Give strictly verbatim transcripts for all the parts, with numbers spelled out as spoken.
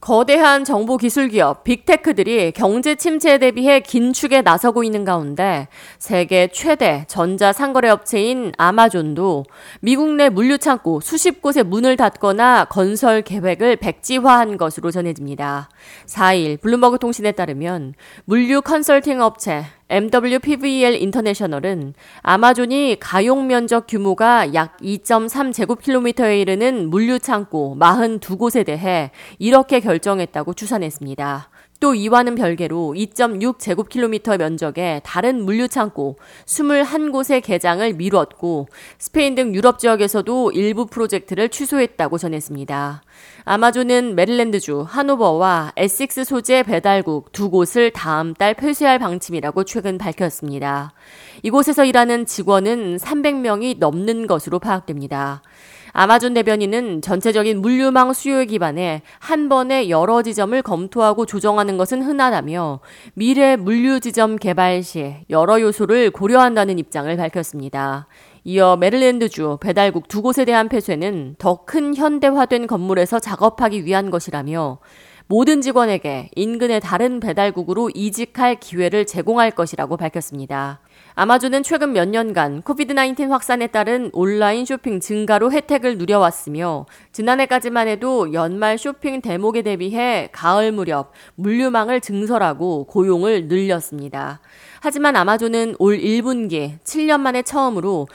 거대한 정보기술기업 빅테크들이 경제 침체에 대비해 긴축에 나서고 있는 가운데 세계 최대 전자상거래 업체인 아마존도 미국 내 물류창고 수십 곳에 문을 닫거나 건설 계획을 백지화한 것으로 전해집니다. 사 일 블룸버그 통신에 따르면 물류 컨설팅 업체 엠더블유피브이엘 인터내셔널은 아마존이 가용 면적 규모가 약 이 점 삼 제곱킬로미터에 이르는 물류창고 사십이 곳에 대해 이렇게 결정했다고 추산했습니다. 또 이와는 별개로 이 점 육 제곱킬로미터 면적의 다른 물류창고 이십일 곳의 개장을 미뤘고 스페인 등 유럽 지역에서도 일부 프로젝트를 취소했다고 전했습니다. 아마존은 메릴랜드주 하노버와 에식스 소재 배달국 두 곳을 다음 달 폐쇄할 방침이라고 최근 밝혔습니다. 이곳에서 일하는 직원은 삼백 명이 넘는 것으로 파악됩니다. 아마존 대변인은 전체적인 물류망 수요에 기반해 한 번에 여러 지점을 검토하고 조정하는 것은 흔하다며 미래 물류 지점 개발 시 여러 요소를 고려한다는 입장을 밝혔습니다. 이어 메릴랜드주 배달국 두 곳에 대한 폐쇄는 더 큰 현대화된 건물에서 작업하기 위한 것이라며 모든 직원에게 인근의 다른 배달국으로 이직할 기회를 제공할 것이라고 밝혔습니다. 아마존은 최근 몇 년간 코비드 나인틴 확산에 따른 온라인 쇼핑 증가로 혜택을 누려왔으며 지난해까지만 해도 연말 쇼핑 대목에 대비해 가을 무렵 물류망을 증설하고 고용을 늘렸습니다. 하지만 아마존은 올 일 분기 칠 년 만에 처음으로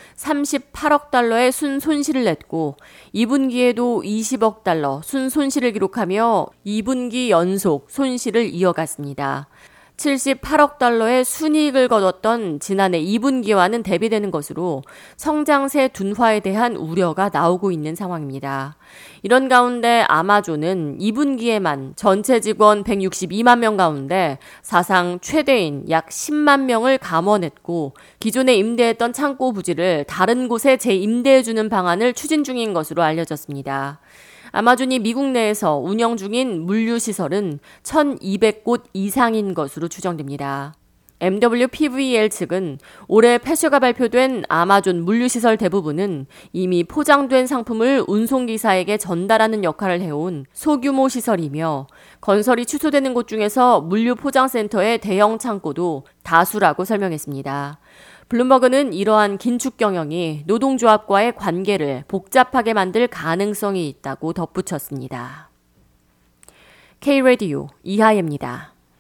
삼십팔억 달러의 순손실을 냈고 이 분기에도 이십억 달러 순손실을 기록하며 이 분기 연속 손실을 이어갔습니다. 칠십팔억 달러의 순이익을 거뒀던 지난해 이 분기와는 대비되는 것으로 성장세 둔화에 대한 우려가 나오고 있는 상황입니다. 이런 가운데 아마존은 이 분기에만 전체 직원 백육십이만 명 가운데 사상 최대인 약 십만 명을 감원했고 기존에 임대했던 창고 부지를 다른 곳에 재임대해주는 방안을 추진 중인 것으로 알려졌습니다. 아마존이 미국 내에서 운영 중인 물류시설은 천이백 곳 이상인 것으로 추정됩니다. 엠더블유피브이엘 측은 올해 폐쇄가 발표된 아마존 물류시설 대부분은 이미 포장된 상품을 운송기사에게 전달하는 역할을 해온 소규모 시설이며 건설이 취소되는 곳 중에서 물류포장센터의 대형 창고도 다수라고 설명했습니다. 블룸버그는 이러한 긴축 경영이 노동조합과의 관계를 복잡하게 만들 가능성이 있다고 덧붙였습니다. K-라디오 이하예입니다.